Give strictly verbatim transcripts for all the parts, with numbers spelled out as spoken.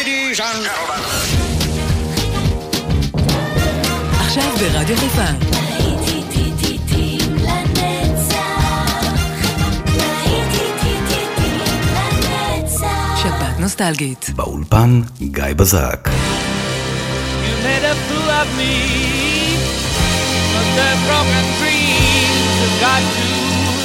Ladies and gentlemen. עכשיו ברדיו חיפה. שבת נוסטלגית. באולפן גיא בזק. You made a fool of me. But the broken dreams have got to end.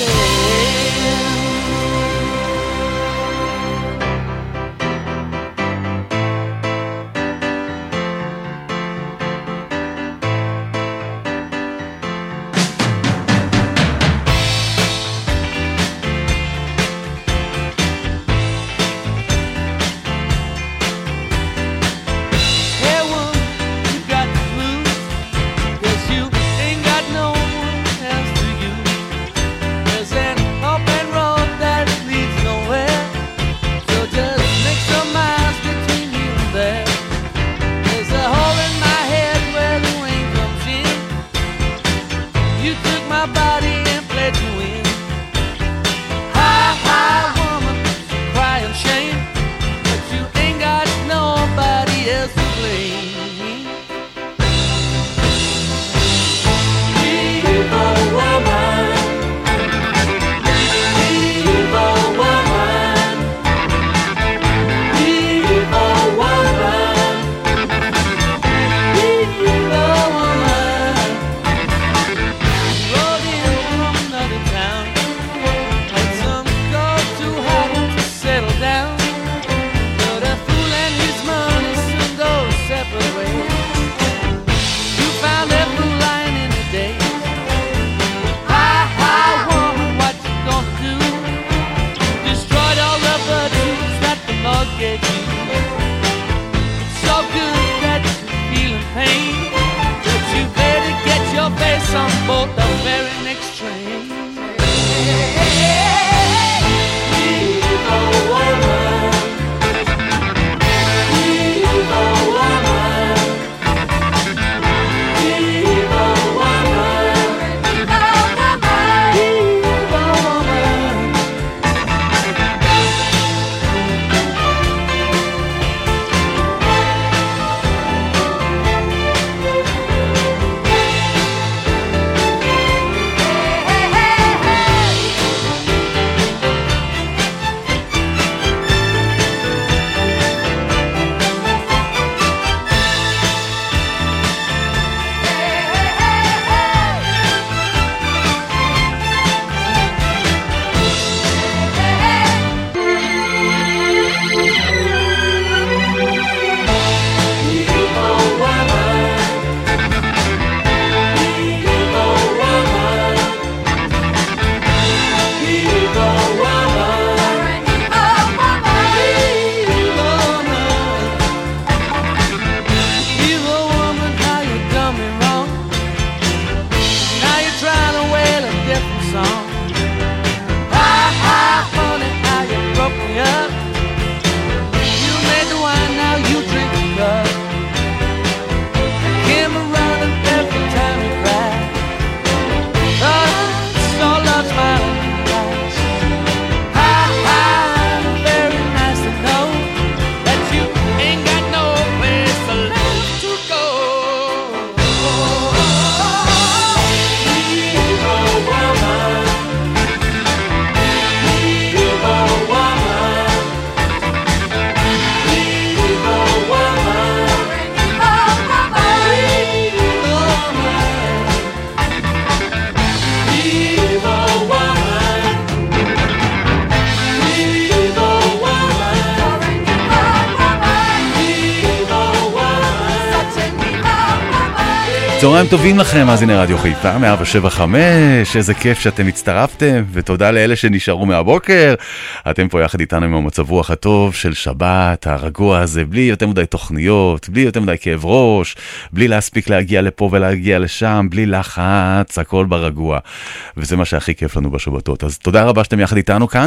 צהריים טובים לכם, אז הנה רדיו חיפה, מאה שבע חמש, איזה כיף שאתם הצטרפתם, ותודה לאלה שנשארו מהבוקר. אתם פה יחד איתנו עם המצב רוח הטוב של שבת, הרגוע הזה, בלי יותר מדי תוכניות, בלי יותר מדי כאב ראש, בלי להספיק להגיע לפה ולהגיע לשם, בלי לחץ, הכל ברגוע. וזה מה שהכי כיף לנו בשבתות. אז תודה רבה שאתם יחד איתנו כאן,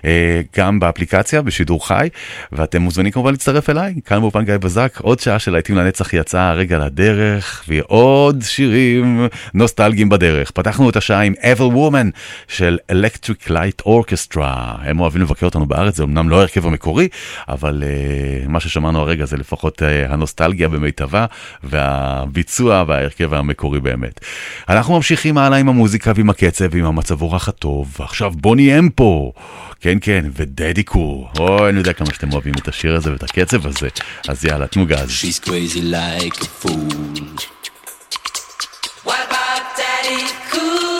גם באפליקציה, בשידור חי, ואתם מוזמנים כמובן להצטרף אליי, כאן באולפן גיא בזק, עוד שעה של להיטים לנצח יצאה הרגע לדרך, והיא עוד עוד שירים נוסטלגיים בדרך. פתחנו את השעה עם Evil Woman של Electric Light Orchestra. הם אוהבים לבקר אותנו בארץ, זה אמנם לא הרכב המקורי, אבל uh, מה ששמענו הרגע זה לפחות uh, הנוסטלגיה במיטבה, והביצוע וההרכב המקורי באמת. אנחנו ממשיכים הלאה עם המוזיקה ועם הקצב ועם המצב רוח הטוב. עכשיו בוני אם פה. כן, כן, ודדי קור. אוי, אני יודע כמה שאתם אוהבים את השיר הזה ואת הקצב הזה. אז יאללה, תנו גז. She's crazy like a fool. What about Daddy Cool?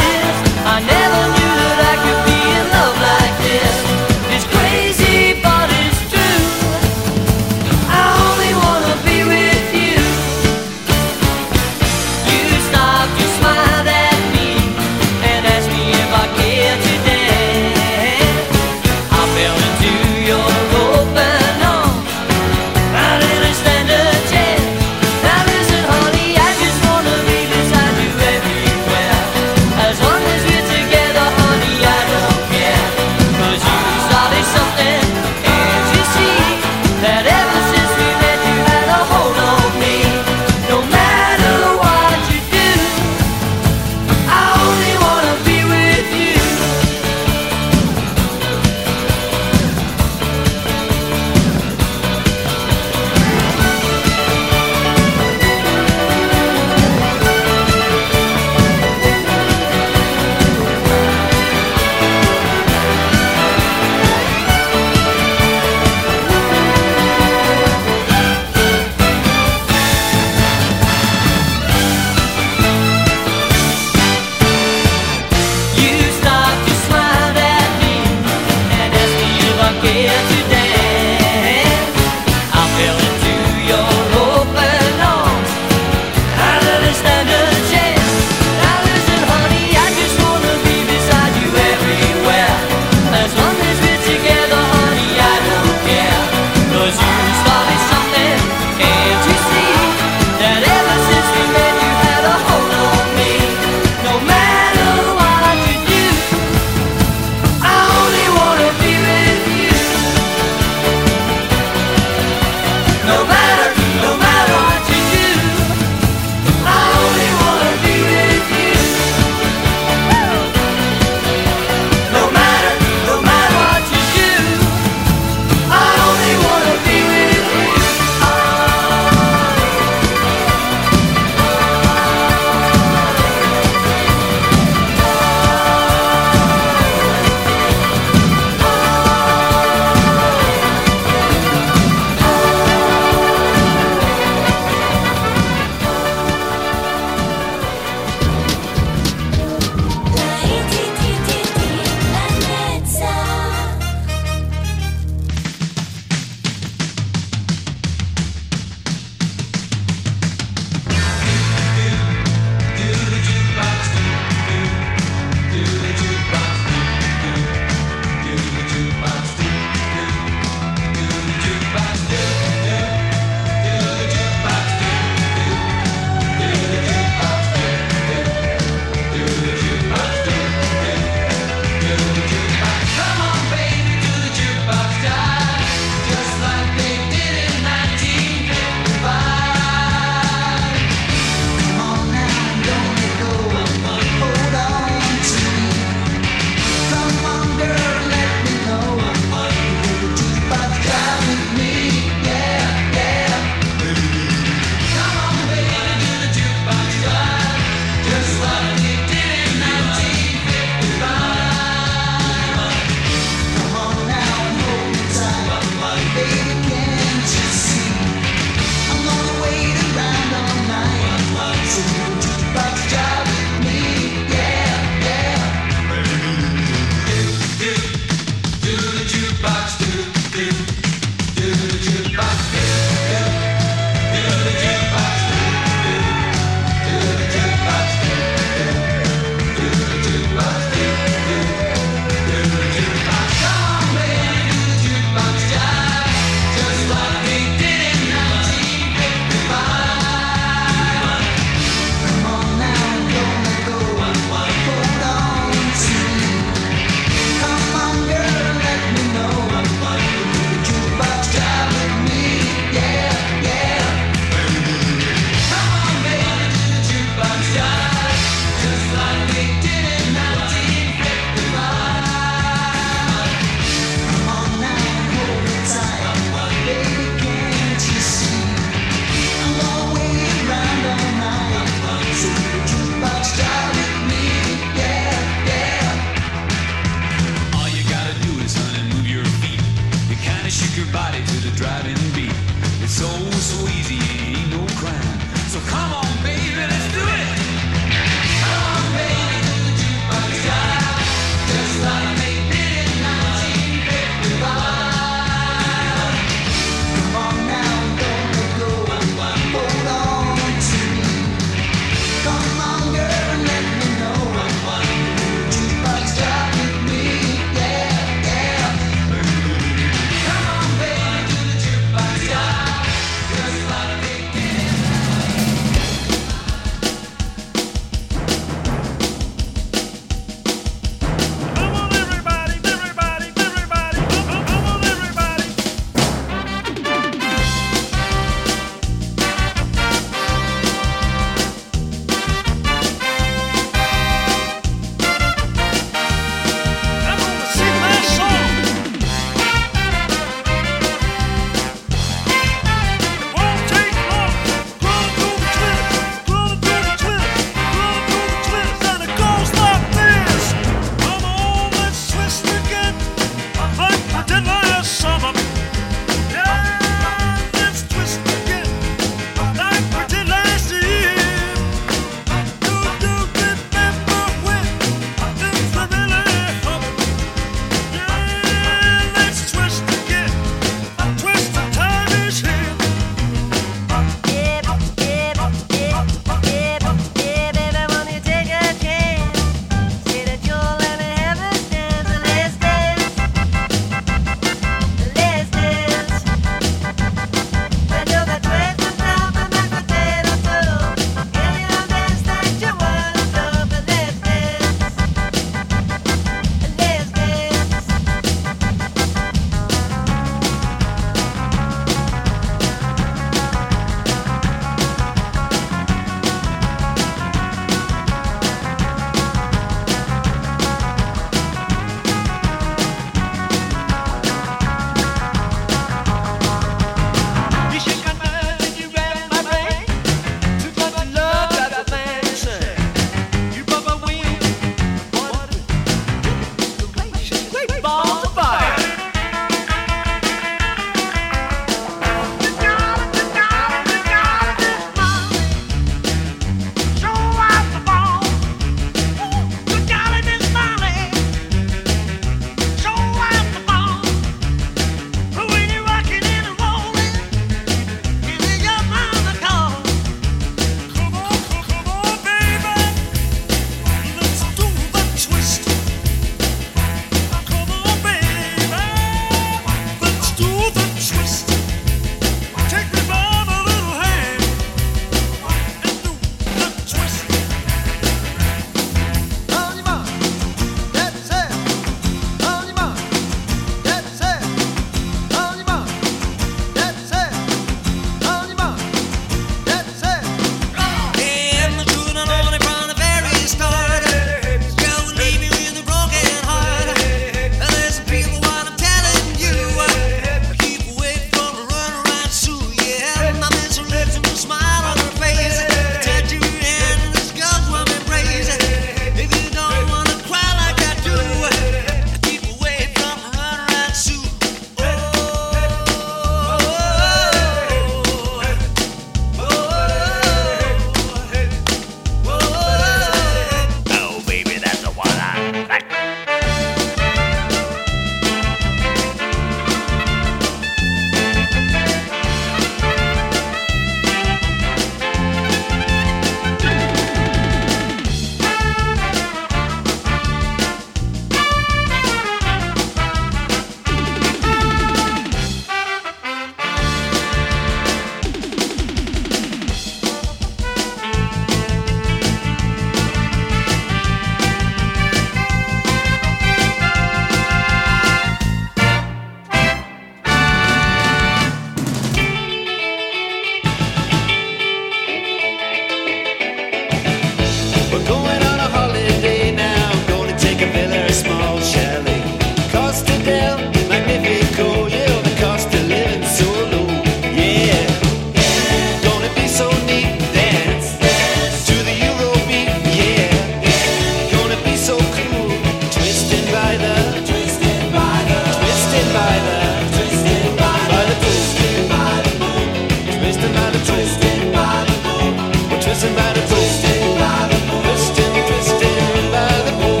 by the pool. Twisting, twisting by the pool.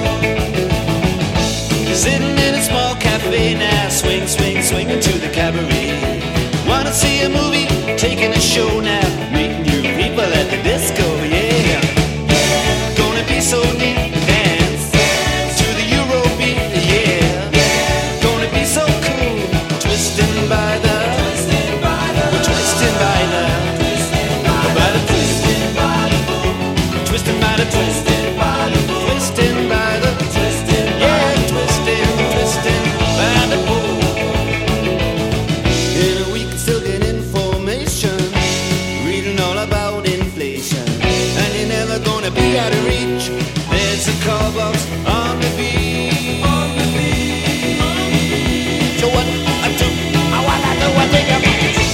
Sitting in a small cafe now, swing, swing, swinging to the cabaret. Wanna see a movie, taking a show now, meeting new people at the disco, yeah. Gonna be so neat, dance to the Eurobeat, yeah. Gonna be so cool, twisting by the, we're twisting by the, by the twisting by the, twisting by the, twisting by the, twisting by the, twisting, yeah, twisting, twisting by the pool. In a week, still get information, reading all about inflation, and you're never gonna be out of reach. There's a call box on the beach. So what I do, I wanna do, I take a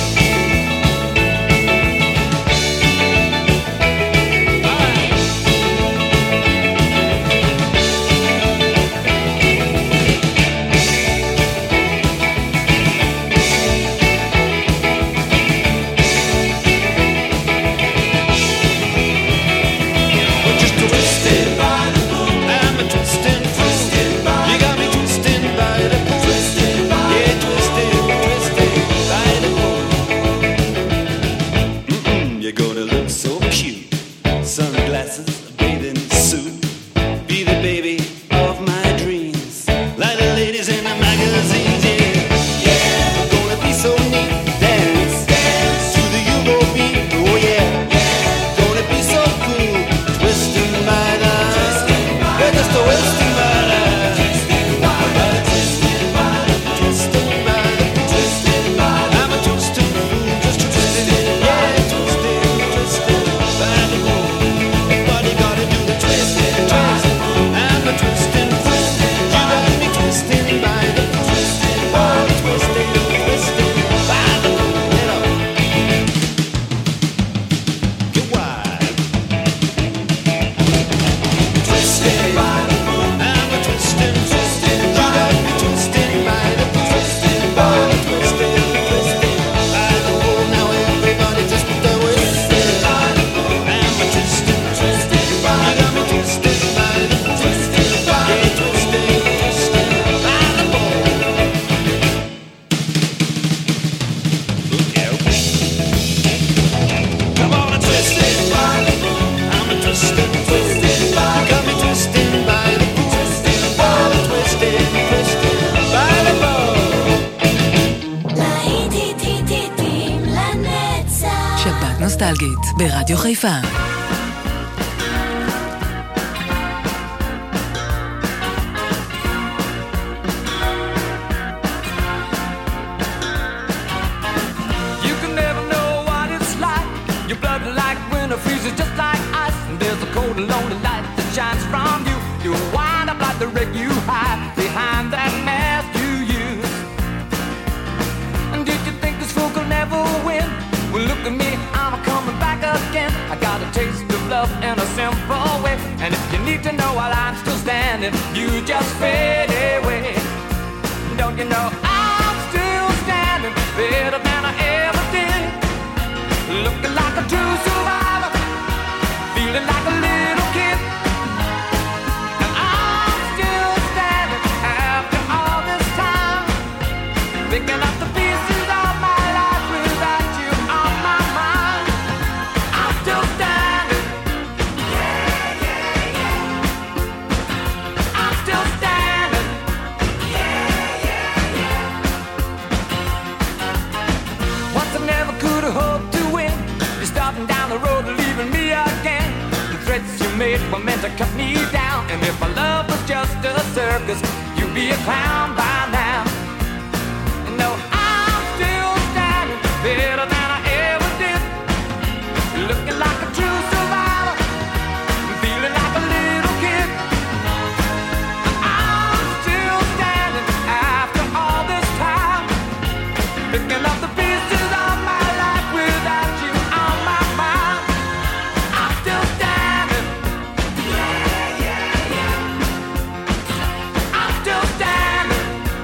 נוסטלגית ברדיו חיפה. You just fade away. Don't you know I'm still standing better than I ever did? Looking like a true survivor, feeling like a little kid. And I'm still standing after all this time, picking up the pieces of my life without you on my mind. I'm still standing. Yeah, yeah, yeah. I'm still standing. Yeah, yeah, yeah. Once I never could have hoped to win. You're starting down the road and leaving me again. The threats you made were meant to cut me down. And if my love was just a circus, you'd be a clown by now. And no, I'm still standing better than I ever did. Looking like a true survivor, feeling like a little kid. And I'm still standing after all this time, picking up the pieces of my life without you on my mind. I'm still standing. Yeah, yeah, yeah. I'm still standing.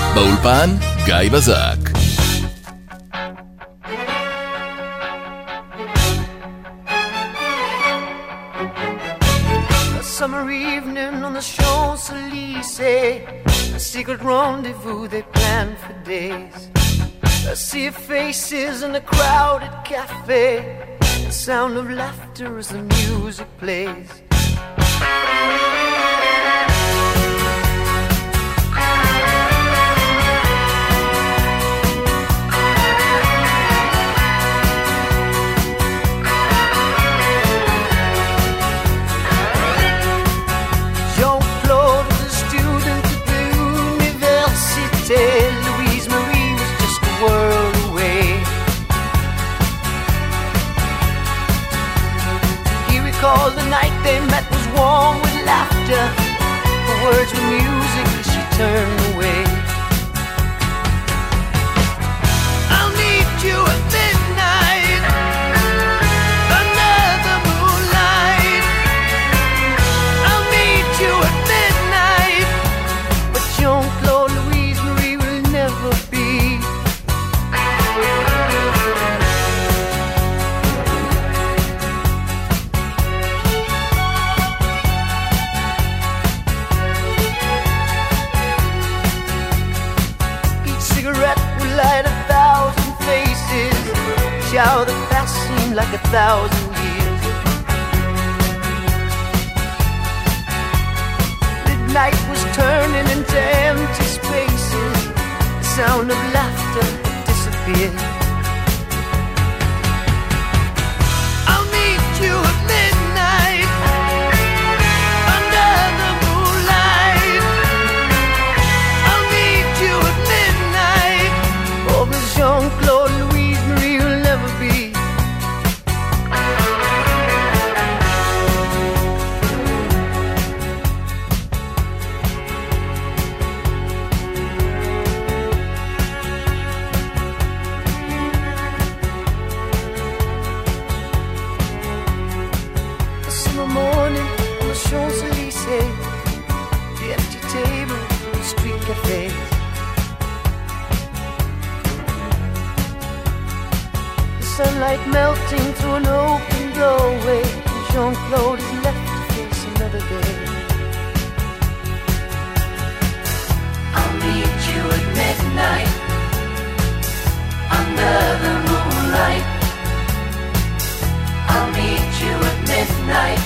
באולפן גיא בזק. Summer evening on the Champs-Élysées, a secret rendezvous they planned for days. I see faces in a crowded cafe, the sound of laughter as the music plays. Louise Marie was just a world away. He recalled the night they met was warm with laughter. The words were music as she turned away. I'll meet you at midnight under the moonlight. I'll meet you at midnight, but Jean-Claude Louise never be. Each cigarette will light a thousand faces. Each hour that passed seemed like a thousand years. Midnight was turning into empty spaces. Sound of laughter disappeared. I'll meet you at midnight under the moonlight. I'll meet you at midnight. Oh, but Jean-Claude Louise Marie will never be. Champs-Élysées, the empty table, the street cafes. The sunlight melting through an open doorway. Jean-Claude is left to face another day. I'll meet you at midnight under the moonlight. I'll meet you at midnight.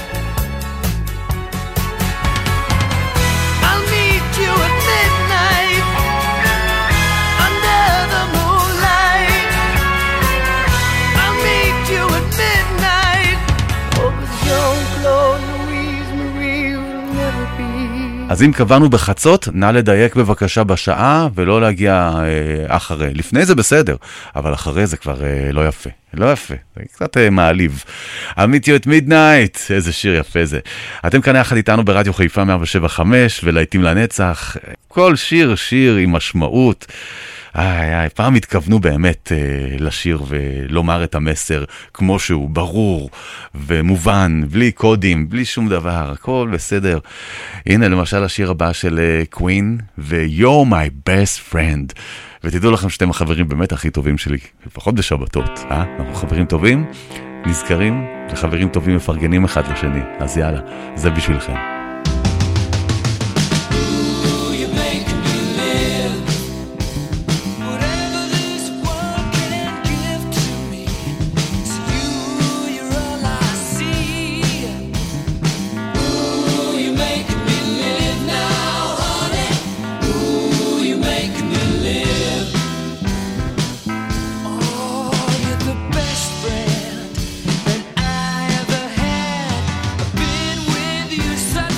You at midnight under the moonlight. I'll meet you at midnight. Oh, but Jean-Claude Louise Marie will never be. אז אם קבענו בחצות, נא לדייק בבקשה בשעה ולא להגיע אה, אחרי. לפני זה בסדר, אבל אחרי זה כבר אה, לא יפה. לא יפה, זה קצת אה, מעליב. עמית יו את מידנייט, איזה שיר יפה זה. אתם כאן יחד איתנו ברדיו חיפה מאה שבע חמש ולהיטים לנצח. כל שיר, שיר עם משמעות. איי, איי, פעם התכוונו באמת אה, לשיר ולומר את המסר כמו שהוא, ברור ומובן, בלי קודים, בלי שום דבר, הכל בסדר. הנה למשל השיר הבא של קווין, ו-You're my best friend. ותדעו לכם שאתם החברים באמת הכי טובים שלי, לפחות בשבתות, אה? אנחנו חברים טובים, נזכרים, לחברים טובים מפרגנים אחד לשני, אז יאללה, זה בשבילכם. Such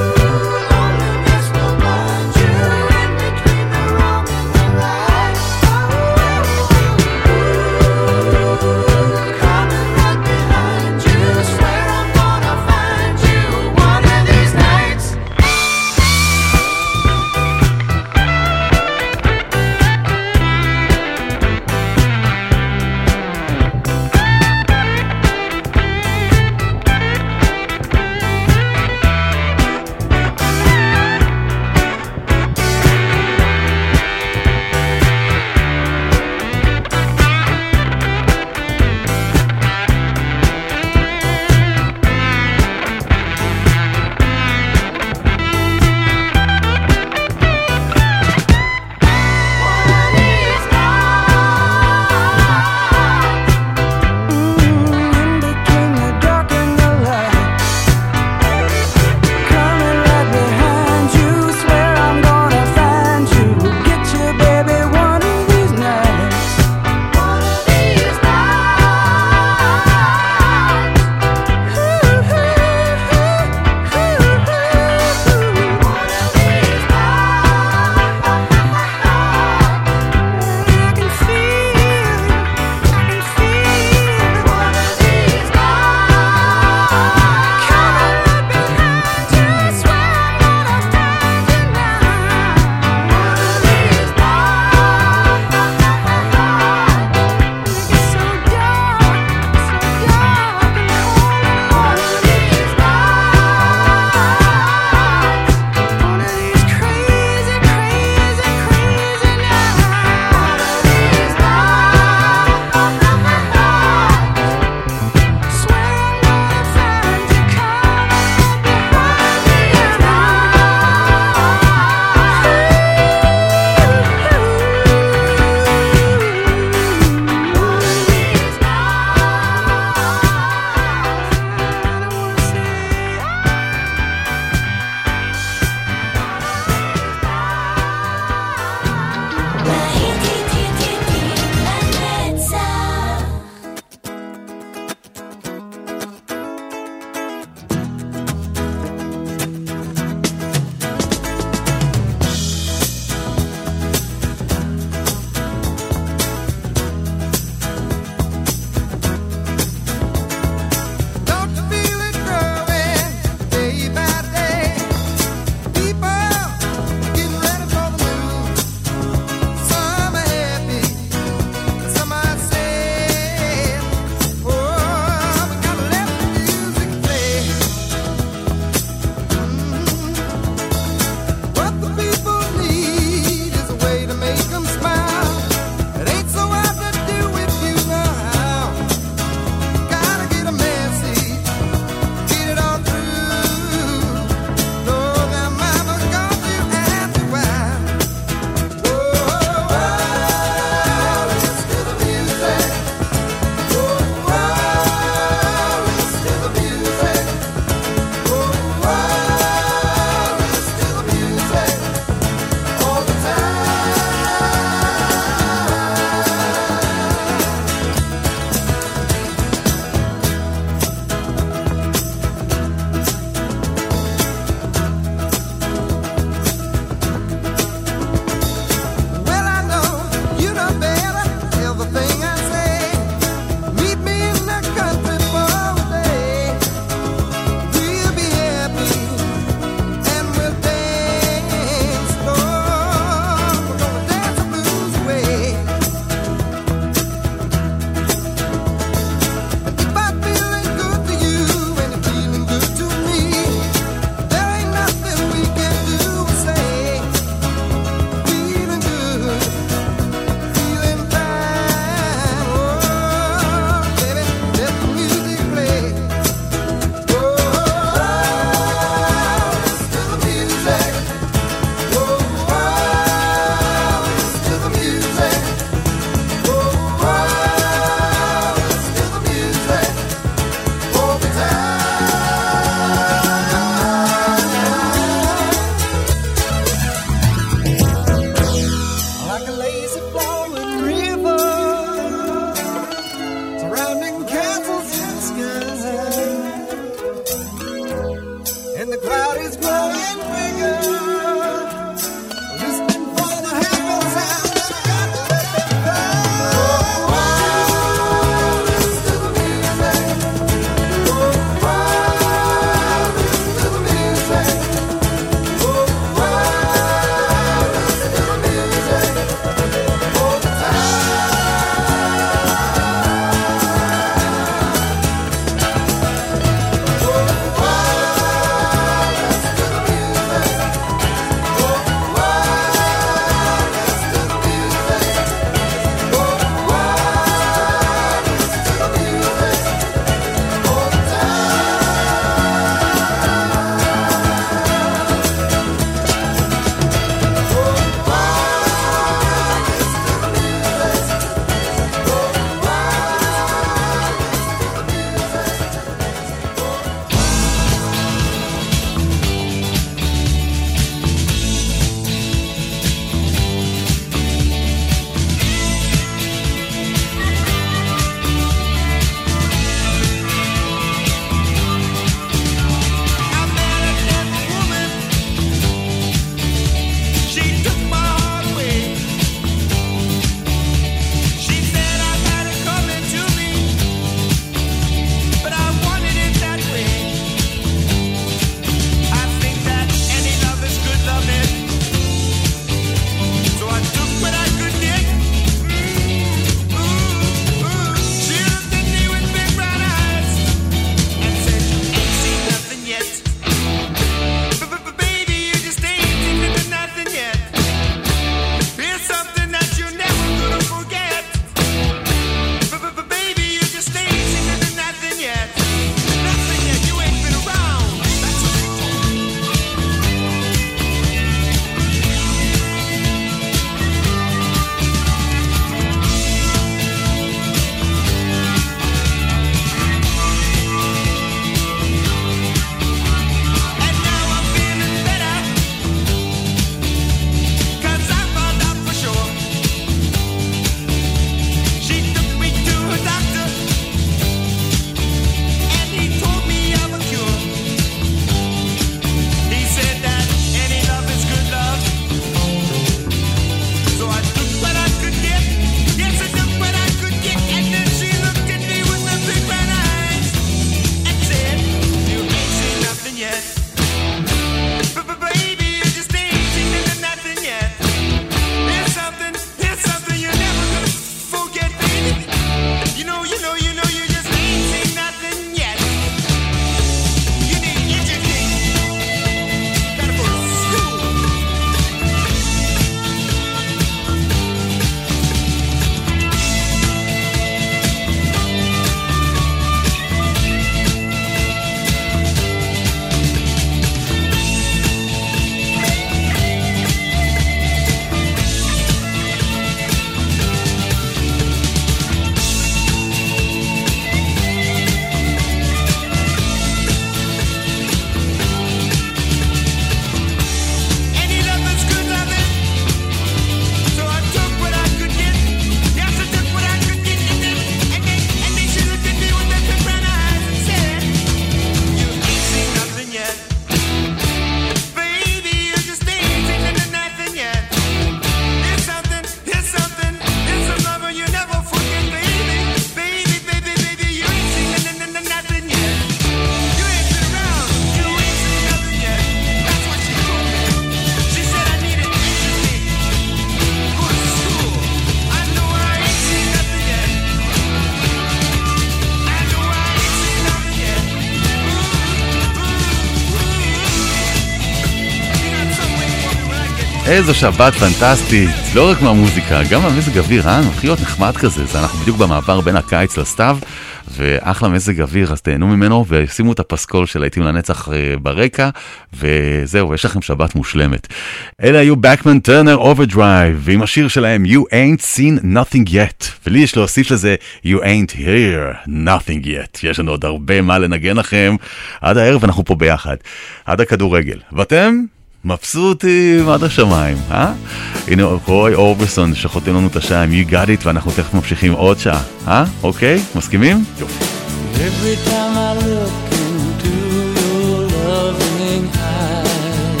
איזו שבת פנטסטית, לא רק מהמוזיקה, גם המזג אוויר, אה? מתחיל להיות נחמד כזה, זה אנחנו בדיוק במעבר בין הקיץ לסתיו, ואחלה מזג אוויר, אז תהנו ממנו, ושימו את הפסקול של להיטים לנצח ברקע, וזהו, יש לכם שבת מושלמת. אלה היו Bachman Turner Overdrive, ועם השיר שלהם You Ain't Seen Nothing Yet, ולי יש להוסיף לזה You Ain't Hear Nothing Yet, יש לנו עוד הרבה מה לנגן לכם, עד הערב אנחנו פה ביחד, עד הכדורגל, ואתם? מבסוטים עד השמיים, אה? הנה רוי אורברסון שחותם לנו את השעה עם You Got It, ואנחנו תכף ממשיכים עוד שעה, אה? אוקיי? מסכימים? יופי. Every time I look into your loving eyes,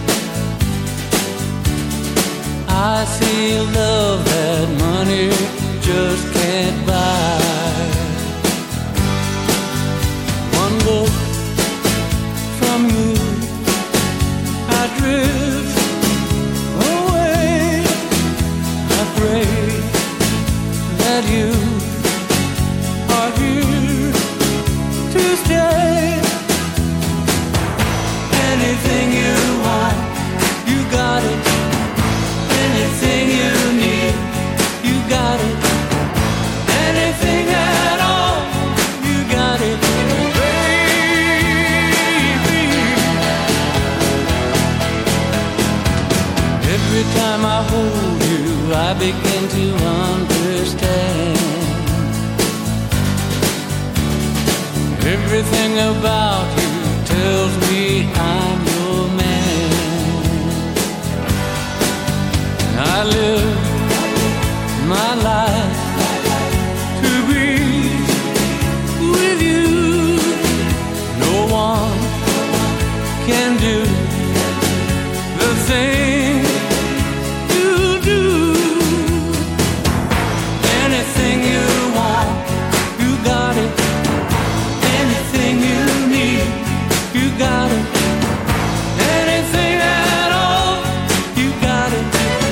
I see love that money just can't buy. One look from you, I drift away. I pray that you are here to stay. Anything you want, you got it. Anything you need, you got it. Anything at all, you got it. Every time I hold you, I begin to understand. Everything about you tells me I'm your man. I live my life to be with you. No one can do the thing you do. Anything you want, you got it. Anything you need, you got it. Anything at all, you got it,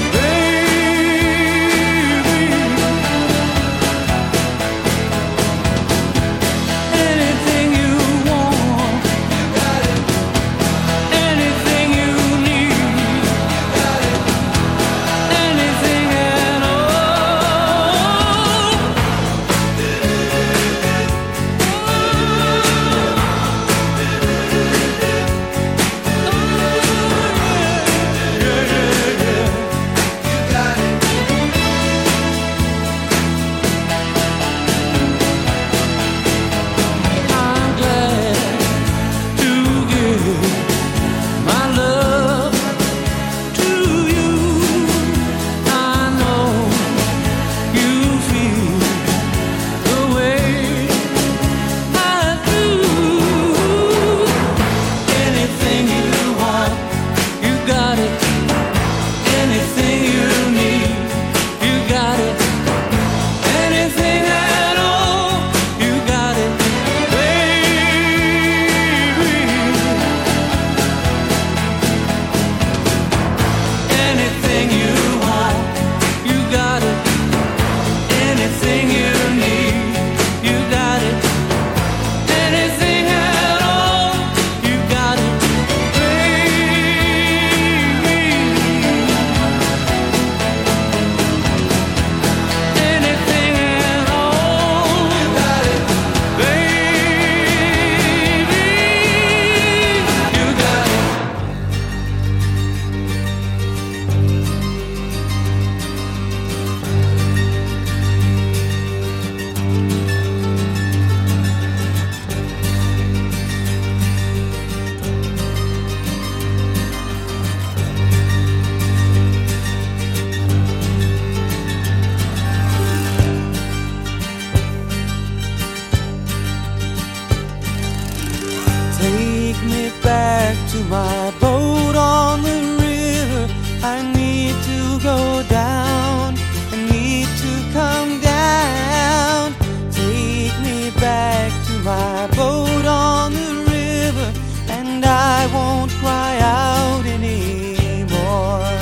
baby. Anything you want, you got it. Anything you need, you got it. Anything at all. I'm glad to give my love to you. I know you feel the way I do. Anything you want, you got it. Anything you need, you got it. Anything at all, you got it, baby. Anything you want, you got it. Anything you need, you got it. Anything at all, you got it, baby. Anything at all, you got it, baby. You got it. Take me back to my boat on the river. I need to go down. I need to come down. Take me back to my boat on the river, and I won't cry out anymore.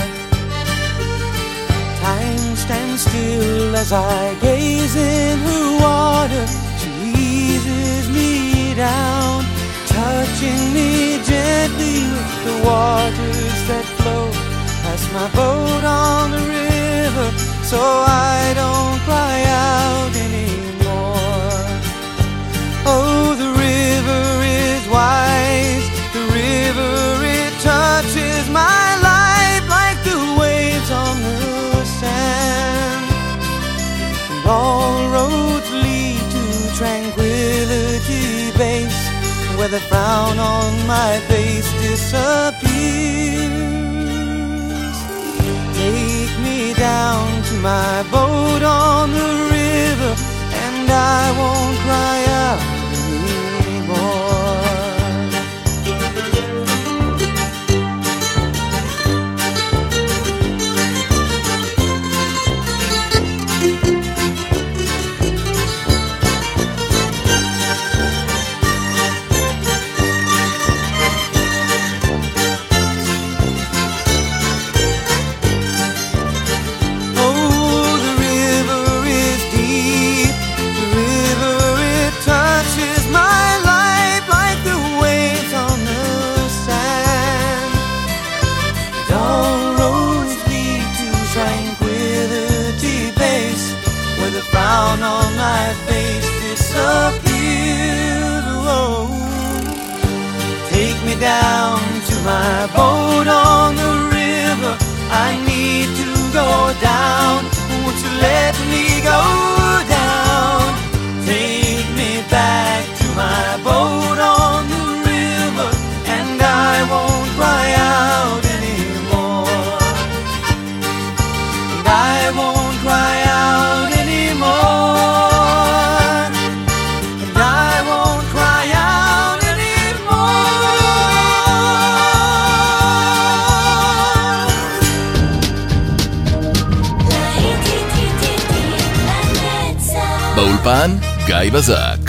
Time stands still as I gaze in her water. She eases me down, touching me gently with the waters that flow past my boat on the river so I don't cry out anymore. Oh, the river is wise, the river, it touches my life like the waves on the sand. And all roads lead to Tranquility Base, where the frown on my face disappears. Take me down to my boat on the river, and I won't cry out anymore. On my face disappears. Oh, take me down to my boat on the river. I need to go down. Won't you let me go down? Take me back to my boat on the river, and I won't cry out anymore. And I won't cry out anymore. באולפן גיא בזק.